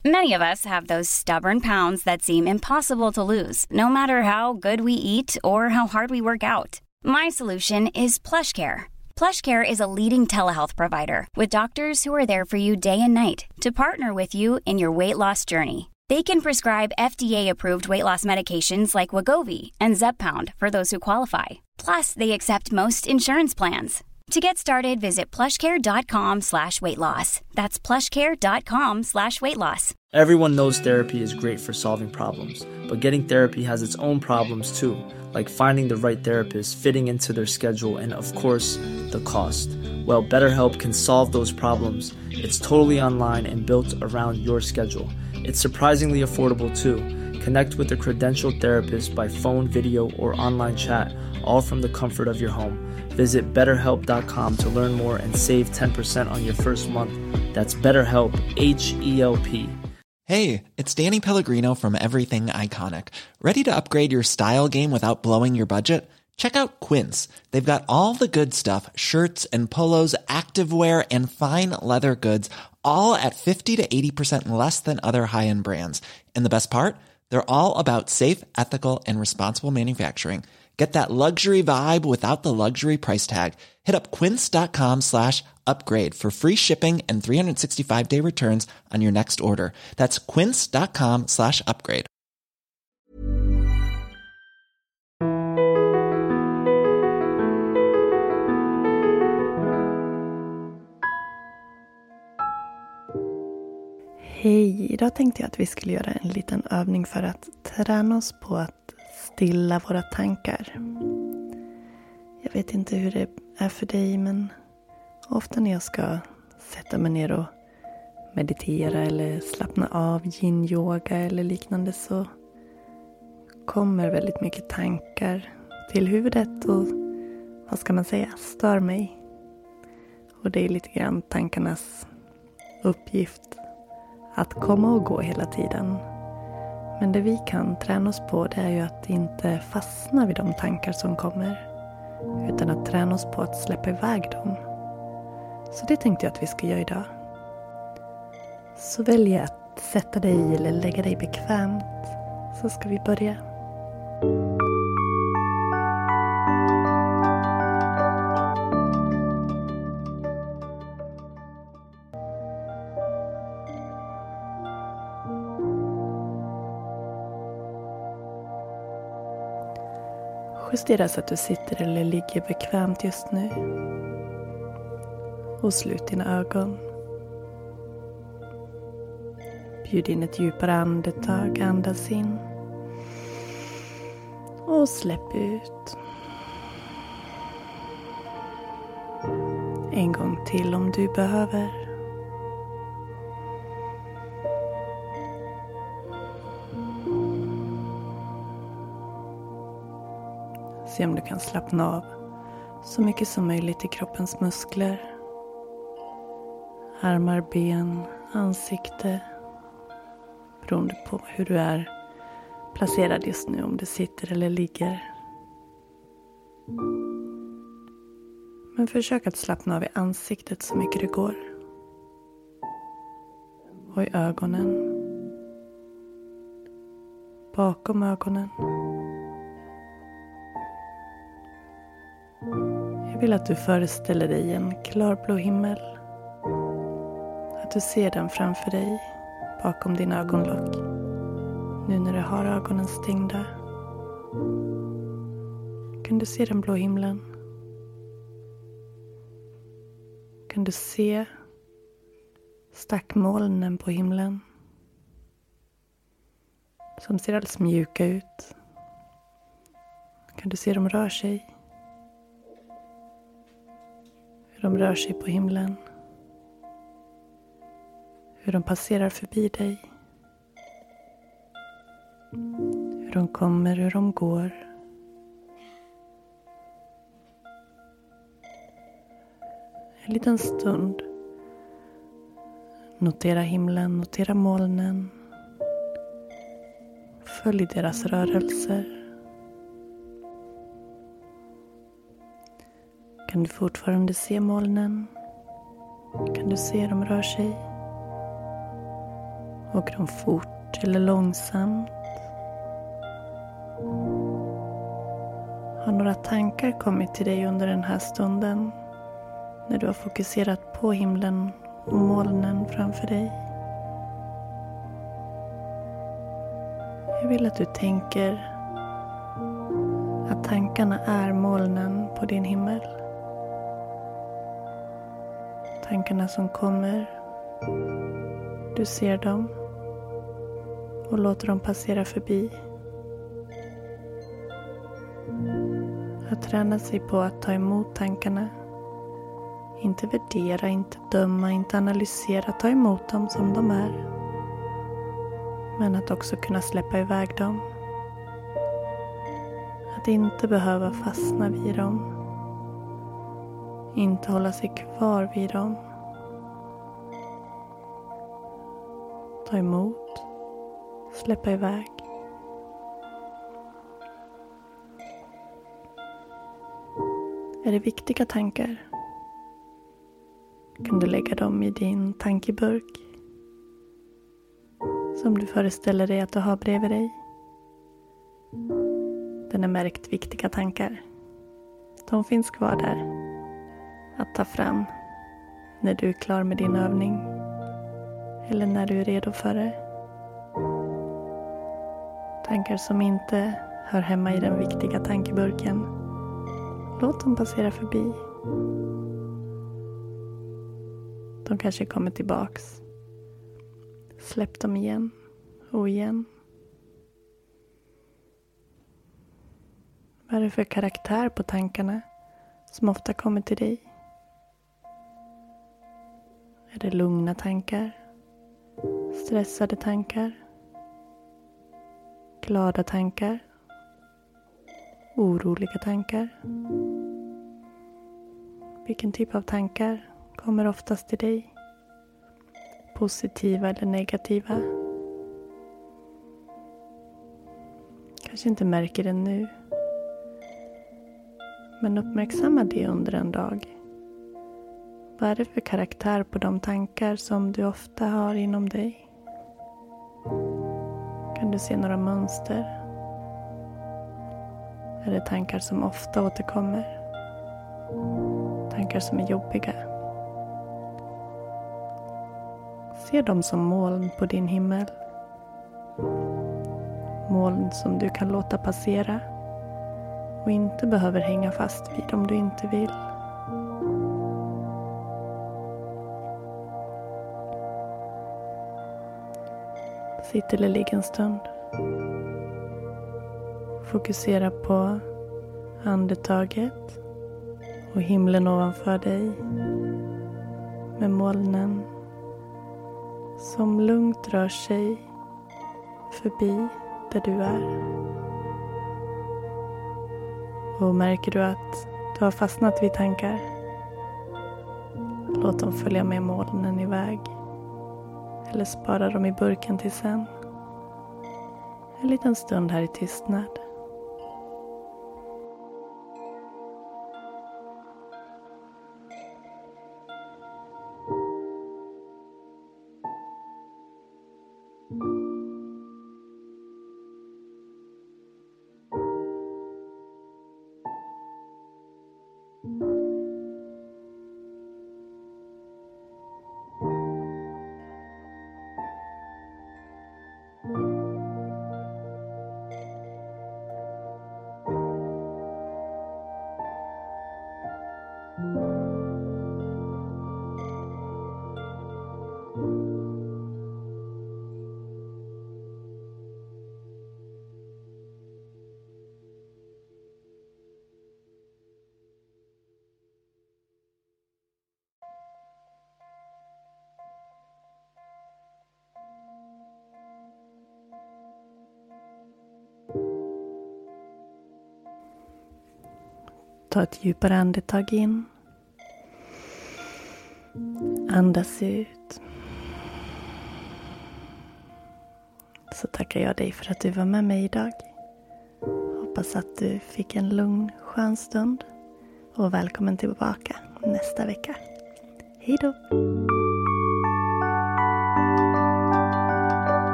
Many of us have those stubborn pounds that seem impossible to lose, no matter how good we eat or how hard we work out. My solution is PlushCare. PlushCare is a leading telehealth provider with doctors who are there for you day and night to partner with you in your weight loss journey. They can prescribe FDA-approved weight loss medications like Wegovy and Zepbound for those who qualify. Plus, they accept most insurance plans. To get started, visit plushcare.com/weightloss. That's plushcare.com/weightloss. Everyone knows therapy is great for solving problems, but getting therapy has its own problems too, like finding the right therapist, fitting into their schedule, and of course, the cost. Well, BetterHelp can solve those problems. It's totally online and built around your schedule. It's surprisingly affordable too. Connect with a credentialed therapist by phone, video, or online chat, all from the comfort of your home. Visit BetterHelp.com to learn more and save 10% on your first month. That's BetterHelp, H-E-L-P. Hey, it's Danny Pellegrino from Everything Iconic. Ready to upgrade your style game without blowing your budget? Check out Quince. They've got all the good stuff, shirts and polos, activewear, and fine leather goods, all at 50 to 80% less than other high-end brands. And the best part? They're all about safe, ethical, and responsible manufacturing. Get that luxury vibe without the luxury price tag. Hit up quince.com/upgrade for free shipping and 365-day returns on your next order. That's quince.com/upgrade. Hej, idag tänkte jag att vi skulle göra en liten övning för att träna oss på att stilla våra tankar. Jag vet inte hur det är för dig, men ofta när jag ska sätta mig ner och meditera eller slappna av, yin-yoga eller liknande, så kommer väldigt mycket tankar till huvudet och, vad ska man säga, stör mig. Och det är lite grann tankarnas uppgift att komma och gå hela tiden. Men det vi kan träna oss på, det är ju att inte fastna vid de tankar som kommer, utan att träna oss på att släppa iväg dem. Så det tänkte jag att vi ska göra idag. Så välj att sätta dig eller lägga dig bekvämt, så ska vi börja. Justera så att du sitter eller ligger bekvämt just nu. Och slut dina ögon. Bjud in ett djupare andetag, andas in. Och släpp ut. En gång till om du behöver. Se om du kan slappna av så mycket som möjligt i kroppens muskler. Armar, ben, ansikte. Beroende på hur du är placerad just nu, om du sitter eller ligger. Men försök att slappna av i ansiktet så mycket det går. Och i ögonen. Bakom ögonen. Jag vill att du föreställer dig en klarblå himmel. Att du ser den framför dig, bakom din ögonlock. Nu när du har ögonen stängda. Kan du se den blå himlen? Kan du se stackmolnen på himlen? Som ser alldeles mjuka ut. Kan du se dem rör sig? Hur de rör sig på himlen. Hur de passerar förbi dig. Hur de kommer, hur de går. En liten stund. Notera himlen, notera molnen. Följ deras rörelser. Kan du fortfarande se molnen? Kan du se dem rör sig? Åker de fort eller långsamt? Har några tankar kommit till dig under den här stunden när du har fokuserat på himlen och molnen framför dig? Jag vill att du tänker att tankarna är molnen på din himmel. Tankarna som kommer, du ser dem och låter dem passera förbi. Att träna sig på att ta emot tankarna. Inte värdera, inte döma, inte analysera. Ta emot dem som de är. Men att också kunna släppa iväg dem. Att inte behöva fastna vid dem. Inte hålla sig kvar vid dem. Ta emot. Släppa iväg. Är det viktiga tankar? Kan du lägga dem i din tankeburk som du föreställer dig att du har bredvid dig. Den är märkt viktiga tankar. De finns kvar där att ta fram när du är klar med din övning eller när du är redo för det. Tankar som inte hör hemma i den viktiga tankeburken, låt dem passera förbi. De kanske kommer tillbaks. Släpp dem igen och igen. Vad är det för karaktär på tankarna som ofta kommer till dig? Är det lugna tankar? Stressade tankar? Glada tankar? Oroliga tankar? Vilken typ av tankar kommer oftast till dig? Positiva eller negativa? Kanske inte märker det nu. Men uppmärksamma det under en dag. Vad är det för karaktär på de tankar som du ofta har inom dig? Kan du se några mönster? Är det tankar som ofta återkommer? Tankar som är jobbiga? Se dem som moln på din himmel. Moln som du kan låta passera och inte behöver hänga fast vid om du inte vill. Sitt eller ligg en stund. Fokusera på andetaget och himlen ovanför dig med molnen som lugnt rör sig förbi där du är. Och märker du att du har fastnat vid tankar, låt dem följa med molnen iväg. Eller spara dem i burken till sen. En liten stund här i tystnad. Ta ett djupare andetag in. Andas ut. Så tackar jag dig för att du var med mig idag. Hoppas att du fick en lugn, skön stund. Och välkommen tillbaka nästa vecka. Hej då!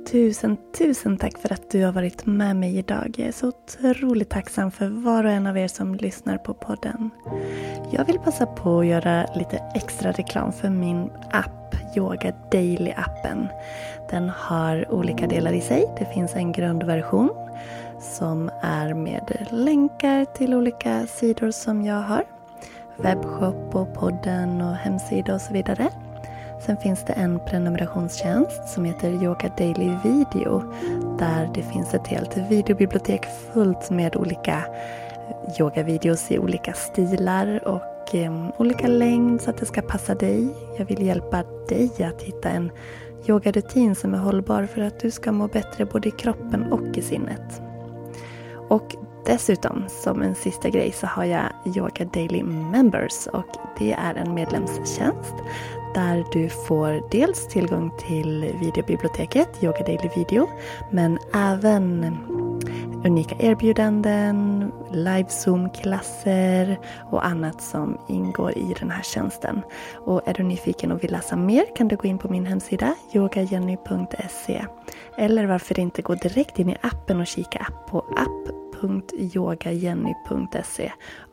tusen tack för att du har varit med mig idag. Jag är så otroligt tacksam för var och en av er som lyssnar på podden. Jag vill passa på att göra lite extra reklam för min app, Yoga Daily-appen. Den har olika delar i sig. Det finns en grundversion som är med länkar till olika sidor som jag har. Webbshop och podden och hemsida och så vidare. Sen finns det en prenumerationstjänst som heter Yoga Daily Video. Där det finns ett helt videobibliotek fullt med olika yogavideos i olika stilar och olika längd så att det ska passa dig. Jag vill hjälpa dig att hitta en yogarutin som är hållbar för att du ska må bättre både i kroppen och i sinnet. Och dessutom, som en sista grej, så har jag Yoga Daily Members och det är en medlemstjänst där du får dels tillgång till videobiblioteket, Yoga Daily Video, men även unika erbjudanden, live-zoom-klasser och annat som ingår i den här tjänsten. Och är du nyfiken och vill läsa mer kan du gå in på min hemsida yogajenny.se eller varför inte gå direkt in i appen och kika på app.yogajenny.se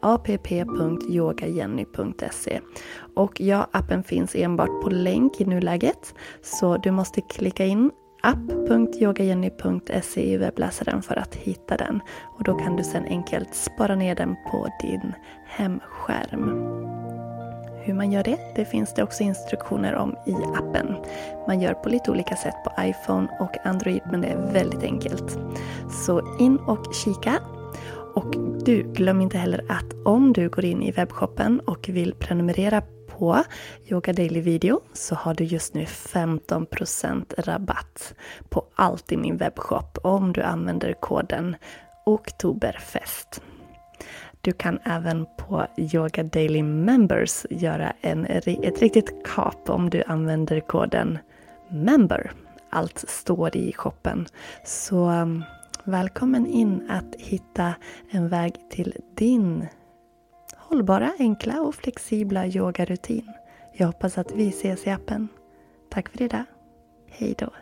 app.yogajenny.se. Och ja, appen finns enbart på länk i nuläget så du måste klicka in app.yogajenny.se i webbläsaren för att hitta den. Och då kan du sedan enkelt spara ner den på din hemskärm. Hur man gör det finns det också instruktioner om i appen. Man gör på lite olika sätt på iPhone och Android, men det är väldigt enkelt. Så in och kika. Och du, glöm inte heller att om du går in i webbshoppen och vill prenumerera på Yoga Daily Video så har du just nu 15% rabatt på allt i min webbshop om du använder koden Oktoberfest. Du kan även på Yoga Daily Members göra ett riktigt kap om du använder koden MEMBER. Allt står i shoppen. Så välkommen in att hitta en väg till din hållbara, enkla och flexibla yogarutin. Jag hoppas att vi ses i appen. Tack för idag. Hej då.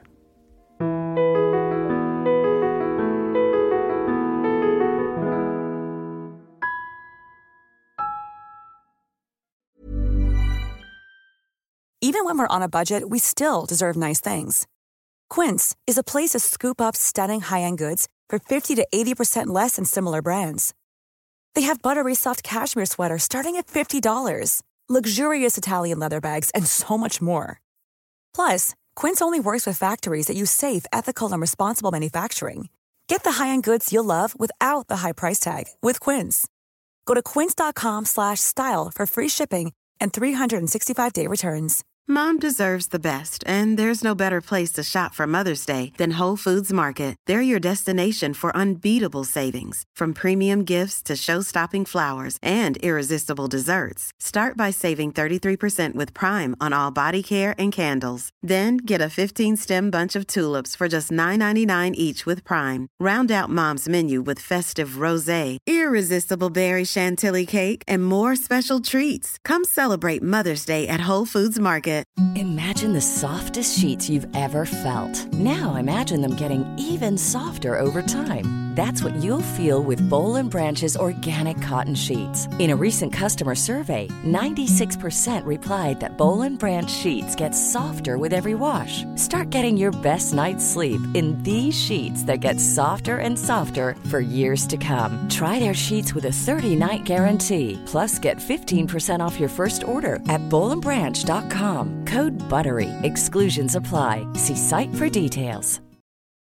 Even when we're on a budget, we still deserve nice things. Quince is a place to scoop up stunning high-end goods for 50 to 80% less than similar brands. They have buttery soft cashmere sweaters starting at $50, luxurious Italian leather bags, and so much more. Plus, Quince only works with factories that use safe, ethical, and responsible manufacturing. Get the high-end goods you'll love without the high price tag with Quince. Go to quince.com/style for free shipping and 365-day returns. Mom deserves the best, and there's no better place to shop for Mother's Day than Whole Foods Market. They're your destination for unbeatable savings, from premium gifts to show-stopping flowers and irresistible desserts. Start by saving 33% with Prime on all body care and candles. Then get a 15-stem bunch of tulips for just $9.99 each with Prime. Round out Mom's menu with festive rosé, irresistible berry chantilly cake, and more special treats. Come celebrate Mother's Day at Whole Foods Market. Imagine the softest sheets you've ever felt. Now imagine them getting even softer over time. That's what you'll feel with Boll & Branch's organic cotton sheets. In a recent customer survey, 96% replied that Boll & Branch sheets get softer with every wash. Start getting your best night's sleep in these sheets that get softer and softer for years to come. Try their sheets with a 30-night guarantee. Plus, get 15% off your first order at bollandbranch.com. Code BUTTERY. Exclusions apply. See site for details.